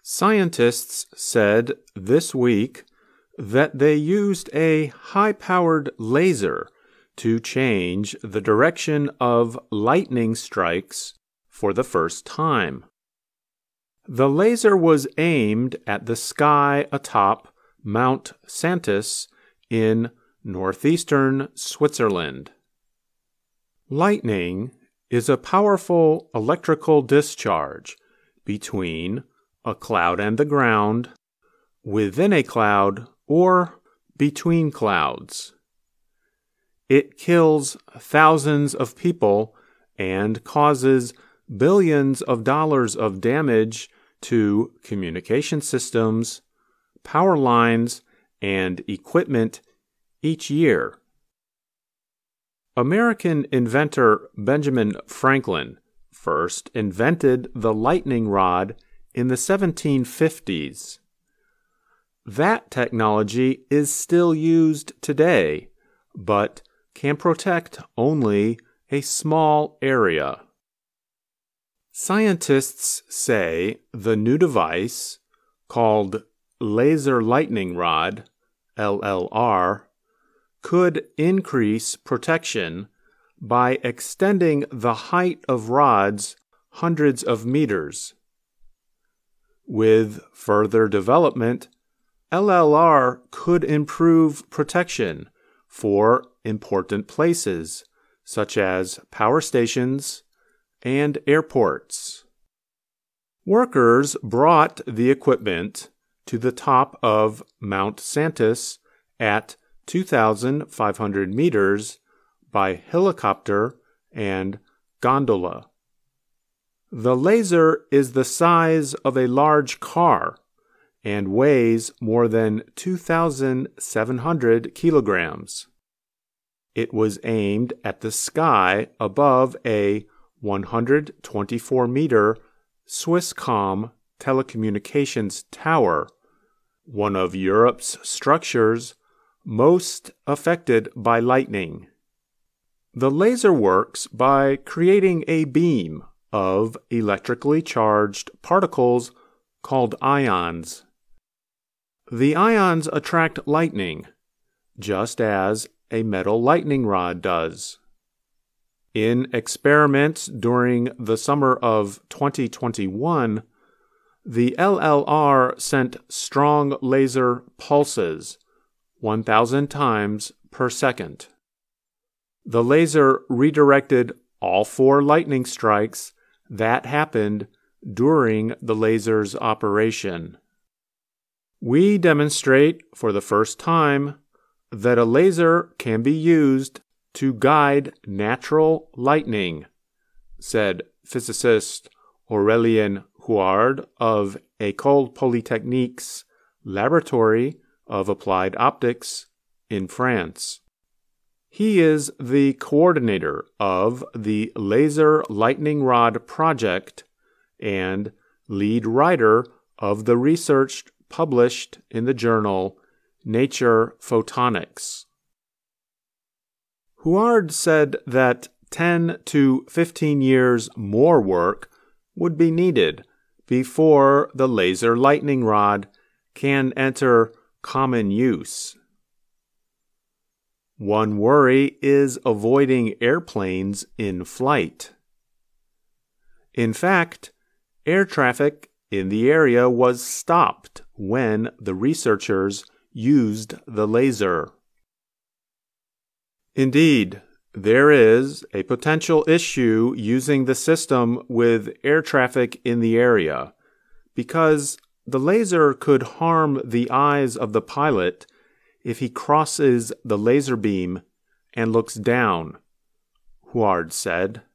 Scientists said this week that they used a high-powered laser to change the direction of lightning strikes for the first time. The laser was aimed at the sky atop Mount Santis in northeastern Switzerland. Lightning is a powerful electrical discharge between a cloud and the ground, within a cloud, or between clouds. It kills thousands of people and causes billions of dollars of damage to communication systems, power lines, and equipment each year. American inventor Benjamin Franklin first invented the lightning rod in the 1750s. That technology is still used today, but can protect only a small area. Scientists say the new device, called Laser Lightning Rod, LLR, could increase protection by extending the height of rods hundreds of meters. With further development, LLR could improve protection for important places, such as power stations and airports. Workers brought the equipment to the top of Mount Santis at 2,500 meters by helicopter and gondola. The laser is the size of a large car and weighs more than 2,700 kilograms. It was aimed at the sky above a 124-meter Swisscom telecommunications tower, one of Europe's structures most affected by lightning. The laser works by creating a beam of electrically charged particles called ions. The ions attract lightning, just as a metal lightning rod does. In experiments during the summer of 2021, the LLR sent strong laser pulses, 1,000 times per second. The laser redirected all 4 lightning strikes that happened during the laser's operation. We demonstrate for the first time that a laser can be used to guide natural lightning, said physicist Aurélien Huard of École Polytechnique's Laboratory of Applied Optics in France. He is the coordinator of the Laser Lightning Rod Project and lead writer of the research published in the journal Nature Photonics. Huard said that 10 to 15 years more work would be needed before the laser lightning rod can enter common use. One worry is avoiding airplanes in flight. In fact, air traffic in the area was stopped when the researchers used the laser. Indeed, there is a potential issue using the system with air traffic in the area, because the laser could harm the eyes of the pilot if he crosses the laser beam and looks down, Huard said.